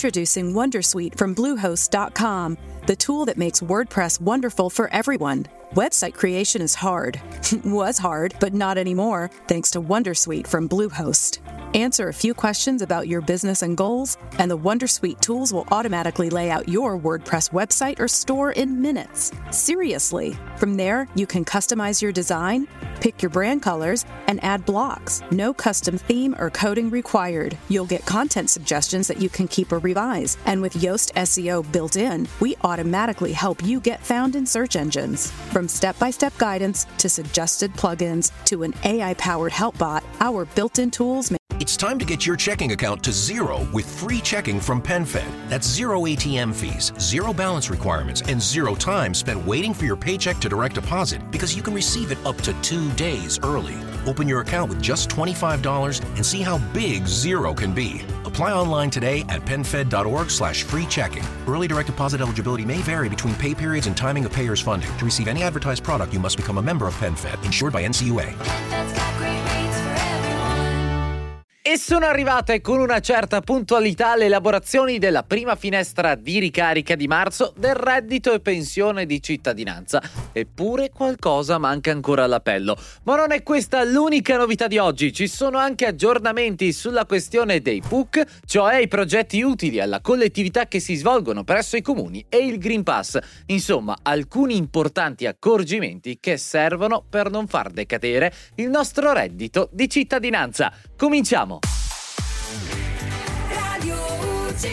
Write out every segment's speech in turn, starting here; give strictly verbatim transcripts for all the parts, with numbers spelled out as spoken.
Introducing Wondersuite from Bluehost dot com, the tool that makes WordPress wonderful for everyone. Website creation is hard. Was hard, but not anymore, thanks to Wondersuite from Bluehost. Answer a few questions about your business and goals, and the Wondersuite tools will automatically lay out your WordPress website or store in minutes. Seriously. From there, you can customize your design, pick your brand colors, and add blocks. No custom theme or coding required. You'll get content suggestions that you can keep or revise. And with Yoast S E O built in, we automatically help you get found in search engines. From step-by-step guidance to suggested plugins to an A I-powered help bot, our built-in tools make It's time to get your checking account to zero with free checking from PenFed. That's zero A T M fees, zero balance requirements, and zero time spent waiting for your paycheck to direct deposit because you can receive it up to two days early. Open your account with just twenty-five dollars and see how big zero can be. Apply online today at penfed.org slash free checking. Early direct deposit eligibility may vary between pay periods and timing of payers' funding. To receive any advertised product, you must become a member of PenFed, insured by N C U A. E sono arrivate con una certa puntualità le elaborazioni della prima finestra di ricarica di marzo del reddito e pensione di cittadinanza. Eppure qualcosa manca ancora all'appello. Ma non è questa l'unica novità di oggi, ci sono anche aggiornamenti sulla questione dei P U C, cioè i progetti utili alla collettività che si svolgono presso i comuni, e il Green Pass. Insomma, alcuni importanti accorgimenti che servono per non far decadere il nostro reddito di cittadinanza. Cominciamo! Radio U C.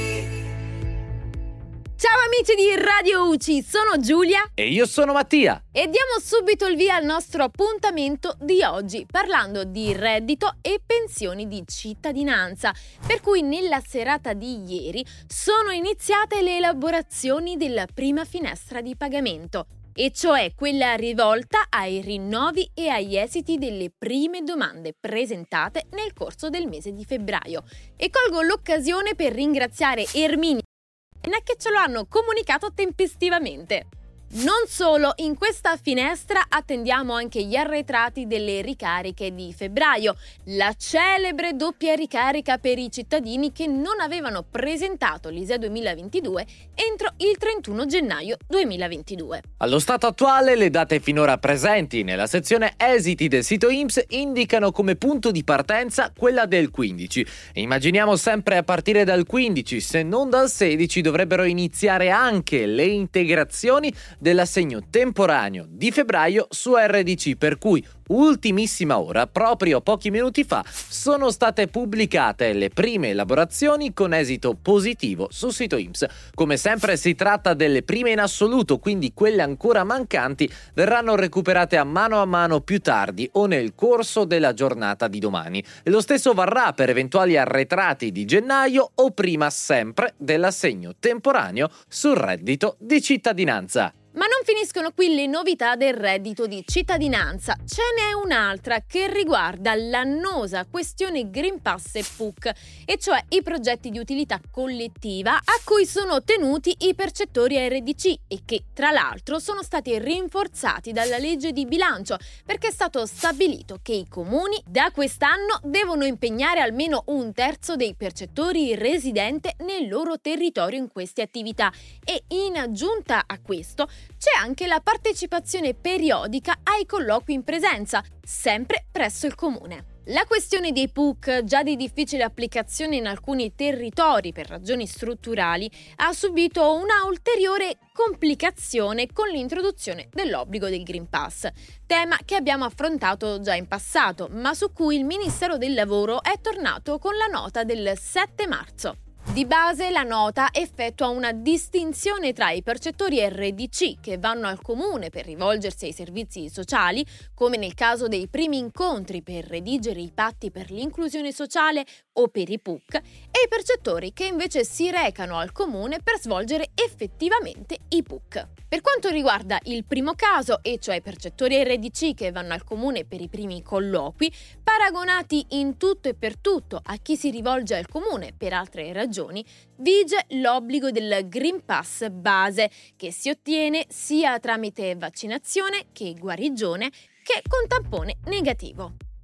Ciao amici di Radio U C, sono Giulia e io sono Mattia e diamo subito il via al nostro appuntamento di oggi parlando di reddito e pensioni di cittadinanza, per cui nella serata di ieri sono iniziate le elaborazioni della prima finestra di pagamento, e cioè quella rivolta ai rinnovi e agli esiti delle prime domande presentate nel corso del mese di febbraio. E colgo l'occasione per ringraziare Erminia e Anna che ce lo hanno comunicato tempestivamente. Non solo, in questa finestra attendiamo anche gli arretrati delle ricariche di febbraio, la celebre doppia ricarica per i cittadini che non avevano presentato l'I S E E duemilaventidue entro il trentuno gennaio duemilaventidue. Allo stato attuale, le date finora presenti nella sezione esiti del sito I N P S indicano come punto di partenza quella del quindici. Immaginiamo sempre a partire dal quindici, se non dal sedici, dovrebbero iniziare anche le integrazioni dell'assegno temporaneo di febbraio su R D C, per cui ultimissima ora, proprio pochi minuti fa, sono state pubblicate le prime elaborazioni con esito positivo sul sito I N P S. Come sempre si tratta delle prime in assoluto, quindi quelle ancora mancanti verranno recuperate a mano a mano più tardi o nel corso della giornata di domani. E lo stesso varrà per eventuali arretrati di gennaio o prima sempre dell'assegno temporaneo sul reddito di cittadinanza. Ma non finiscono qui le novità del reddito di cittadinanza, ce n'è un'altra che riguarda l'annosa questione Green Pass e P U C, e cioè i progetti di utilità collettiva a cui sono tenuti i percettori R D C e che tra l'altro sono stati rinforzati dalla legge di bilancio, perché è stato stabilito che i comuni da quest'anno devono impegnare almeno un terzo dei percettori residente nel loro territorio in queste attività, e in aggiunta a questo c'è anche la partecipazione periodica ai colloqui in presenza, sempre presso il comune. La questione dei P U C, già di difficile applicazione in alcuni territori per ragioni strutturali, ha subito una ulteriore complicazione con l'introduzione dell'obbligo del Green Pass, tema che abbiamo affrontato già in passato, ma su cui il Ministero del Lavoro è tornato con la nota del sette marzo. Di base la nota effettua una distinzione tra i percettori R D C che vanno al comune per rivolgersi ai servizi sociali, come nel caso dei primi incontri per redigere i patti per l'inclusione sociale o per i P U C, e i percettori che invece si recano al comune per svolgere effettivamente i P U C. Per quanto riguarda il primo caso, e cioè i percettori R D C che vanno al comune per i primi colloqui, paragonati in tutto e per tutto a chi si rivolge al comune per altre ragioni, vige l'obbligo del Green Pass base, che si ottiene sia tramite vaccinazione che guarigione che con tampone negativo.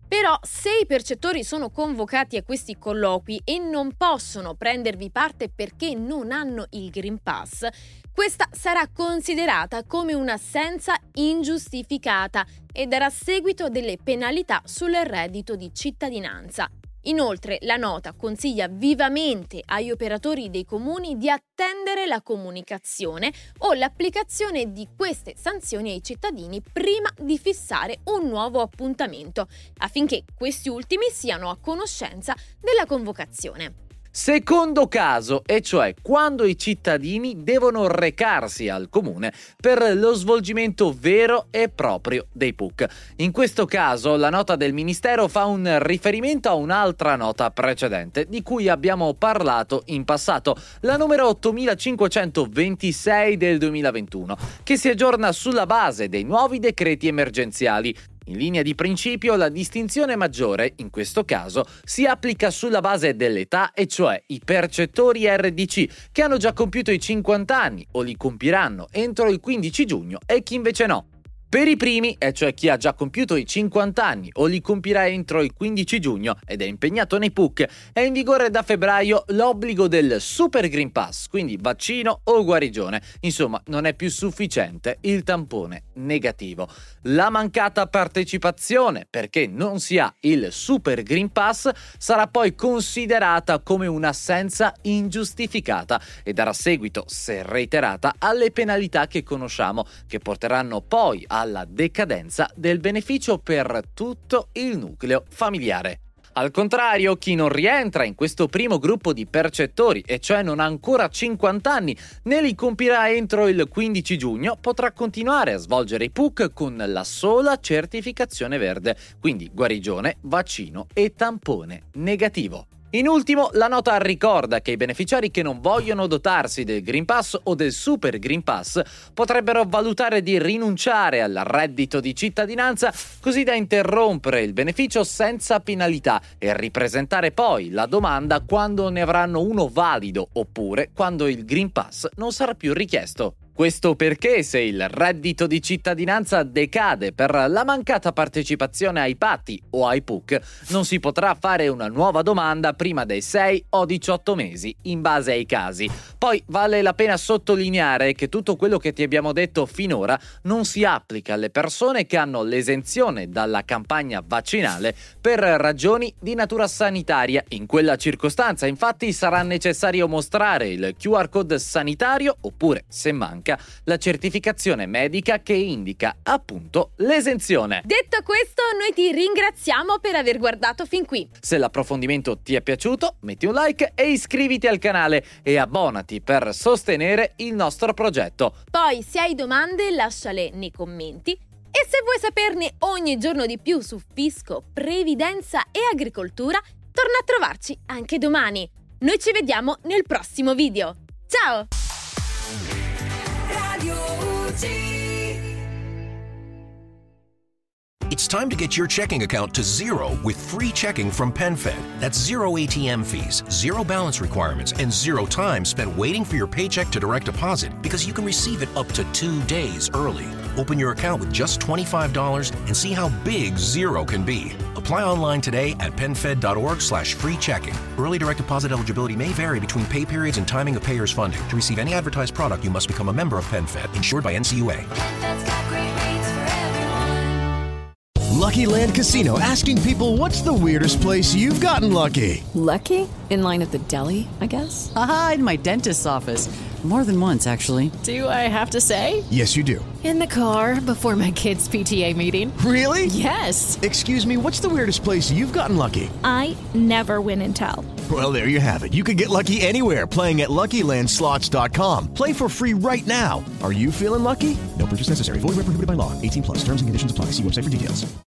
Però se i percettori sono convocati a questi colloqui e non possono prendervi parte perché non hanno il Green Pass, questa sarà considerata come un'assenza ingiustificata e darà seguito a delle penalità sul reddito di cittadinanza. Inoltre, la nota consiglia vivamente agli operatori dei comuni di attendere la comunicazione o l'applicazione di queste sanzioni ai cittadini prima di fissare un nuovo appuntamento, affinché questi ultimi siano a conoscenza della convocazione. Secondo caso, e cioè quando i cittadini devono recarsi al comune per lo svolgimento vero e proprio dei P U C. In questo caso la nota del Ministero fa un riferimento a un'altra nota precedente di cui abbiamo parlato in passato, la numero ottomilacinquecentoventisei del duemilaventuno, che si aggiorna sulla base dei nuovi decreti emergenziali. In linea di principio, la distinzione maggiore, in questo caso, si applica sulla base dell'età, e cioè i percettori R D C che hanno già compiuto i cinquanta anni o li compiranno entro il quindici giugno e chi invece no. Per i primi, e cioè chi ha già compiuto i cinquanta anni o li compirà entro il quindici giugno ed è impegnato nei P U C, è in vigore da febbraio l'obbligo del Super Green Pass, quindi vaccino o guarigione. Insomma, non è più sufficiente il tampone negativo. La mancata partecipazione, perché non si ha il Super Green Pass, sarà poi considerata come un'assenza ingiustificata e darà seguito, se reiterata, alle penalità che conosciamo, che porteranno poi a alla decadenza del beneficio per tutto il nucleo familiare. Al contrario, chi non rientra in questo primo gruppo di percettori, e cioè non ha ancora cinquanta anni, né li compirà entro il quindici giugno, potrà continuare a svolgere i P U C con la sola certificazione verde, quindi guarigione, vaccino e tampone negativo. In ultimo, la nota ricorda che i beneficiari che non vogliono dotarsi del Green Pass o del Super Green Pass potrebbero valutare di rinunciare al reddito di cittadinanza, così da interrompere il beneficio senza penalità e ripresentare poi la domanda quando ne avranno uno valido, oppure quando il Green Pass non sarà più richiesto. Questo perché se il reddito di cittadinanza decade per la mancata partecipazione ai patti o ai P U C, non si potrà fare una nuova domanda prima dei sei o diciotto mesi, in base ai casi. Poi vale la pena sottolineare che tutto quello che ti abbiamo detto finora non si applica alle persone che hanno l'esenzione dalla campagna vaccinale per ragioni di natura sanitaria. In quella circostanza, infatti, sarà necessario mostrare il Q R code sanitario oppure, se manca, la certificazione medica che indica appunto l'esenzione. Detto questo, noi ti ringraziamo per aver guardato fin qui. Se l'approfondimento ti è piaciuto, metti un like e iscriviti al canale e abbonati per sostenere il nostro progetto. Poi, se hai domande, lasciale nei commenti. E se vuoi saperne ogni giorno di più su fisco, previdenza e agricoltura, torna a trovarci anche domani. Noi ci vediamo nel prossimo video. Ciao! It's time to get your checking account to zero with free checking from PenFed. That's zero A T M fees, zero balance requirements, and zero time spent waiting for your paycheck to direct deposit because you can receive it up to two days early. Open your account with just twenty-five dollars and see how big zero can be. Apply online today at penfed.org slash free checking. Early direct deposit eligibility may vary between pay periods and timing of payer's funding. To receive any advertised product, you must become a member of PenFed, insured by N C U A. Lucky Land Casino, asking people, what's the weirdest place you've gotten lucky? Lucky? In line at the deli, I guess? Aha, in my dentist's office. More than once, actually. Do I have to say? Yes, you do. In the car before my kids' P T A meeting. Really? Yes. Excuse me, what's the weirdest place you've gotten lucky? I never win and tell. Well, there you have it. You can get lucky anywhere, playing at Lucky Land Slots dot com. Play for free right now. Are you feeling lucky? No purchase necessary. Void where prohibited by law. eighteen plus. Terms and conditions apply. See website for details.